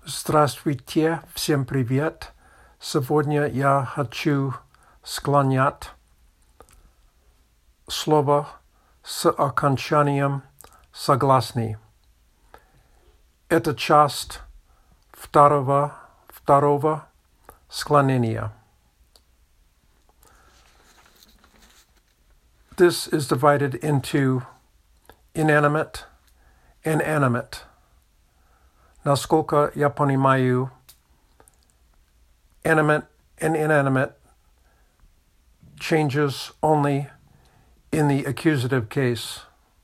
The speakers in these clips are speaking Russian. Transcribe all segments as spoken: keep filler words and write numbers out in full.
Здравствуйте, всем привет. Сегодня я хочу склонять слово с окончанием согласный. Это часть второго, второго склонения. This is divided into inanimate and animate. Насколько я понимаю, animate and inanimate changes only in the accusative case.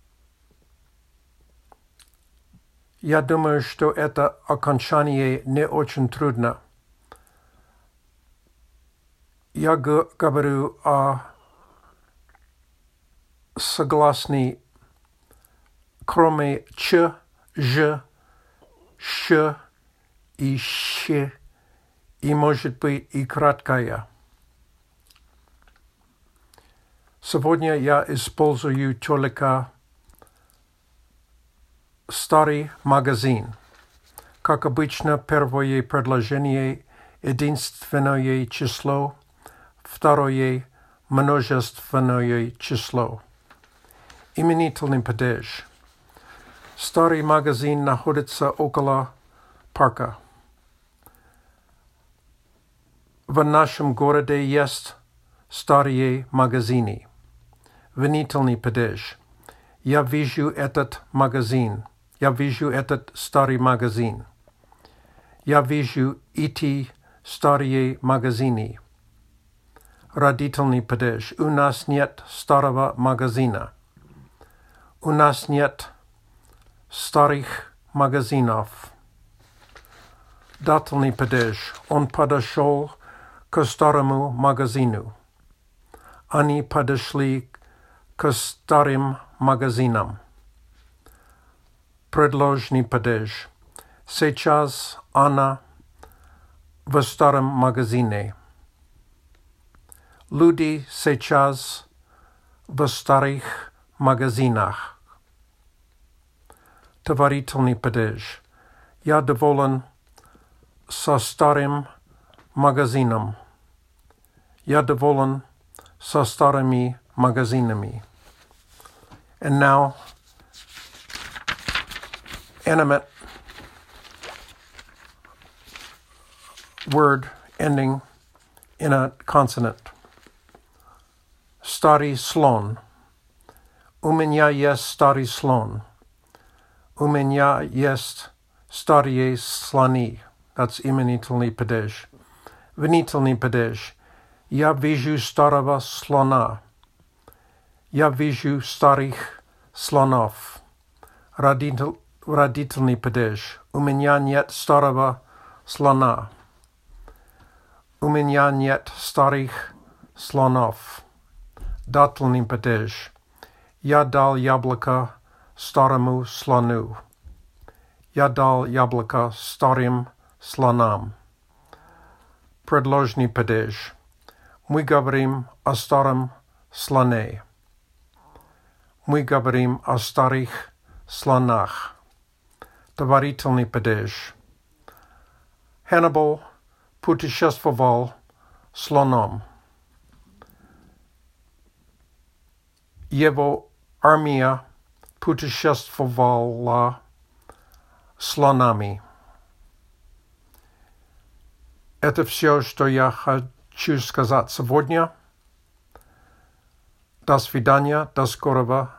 Я думаю, что это окончание не очень трудно. Я говорю о согласный, кроме ч, ж, ш и щ, и, может быть, и краткая. Сегодня я использую только старый магазин. Как обычно, первое предложение – единственное число, второе – множественное число. Именительный падеж. Старый магазин находится около парка. В нашем городе есть старые магазины. Винительный падеж. Я вижу этот магазин. Я вижу этот старый магазин. Я вижу эти старые магазины. Родительный падеж. У нас нет старого магазина. У нас нет старых магазинов. Дательный падеж. Он подошел к старому магазину. Они подошли к старым магазинам. Предложный падеж. Сейчас она в старом магазине. Люди сейчас в старых магазинах. Товарительный падеж. Я доволен со старым магазином. Я доволен со старыми магазинами. And now, animate word ending in a consonant. Старый слон. У меня есть старый слон. У меня есть старые слоны. That's именительный падеж. Винительный падеж. Я вижу старого слона. Я вижу старых слонов. Родитель, родительный падеж. У меня нет старого слона. У меня нет старых слонов. Дательный падеж. Я дал яблоко старому слону. Я дал яблоко старым слонам. Предложный падеж. Мы говорим о старом слоне. Мы говорим о старых слонах. Товарительный падеж. Hannibal путешествовал слоном. Его армия путешествовала слонами. Это все, что я хочу сказать сегодня. До свидания, до скорого.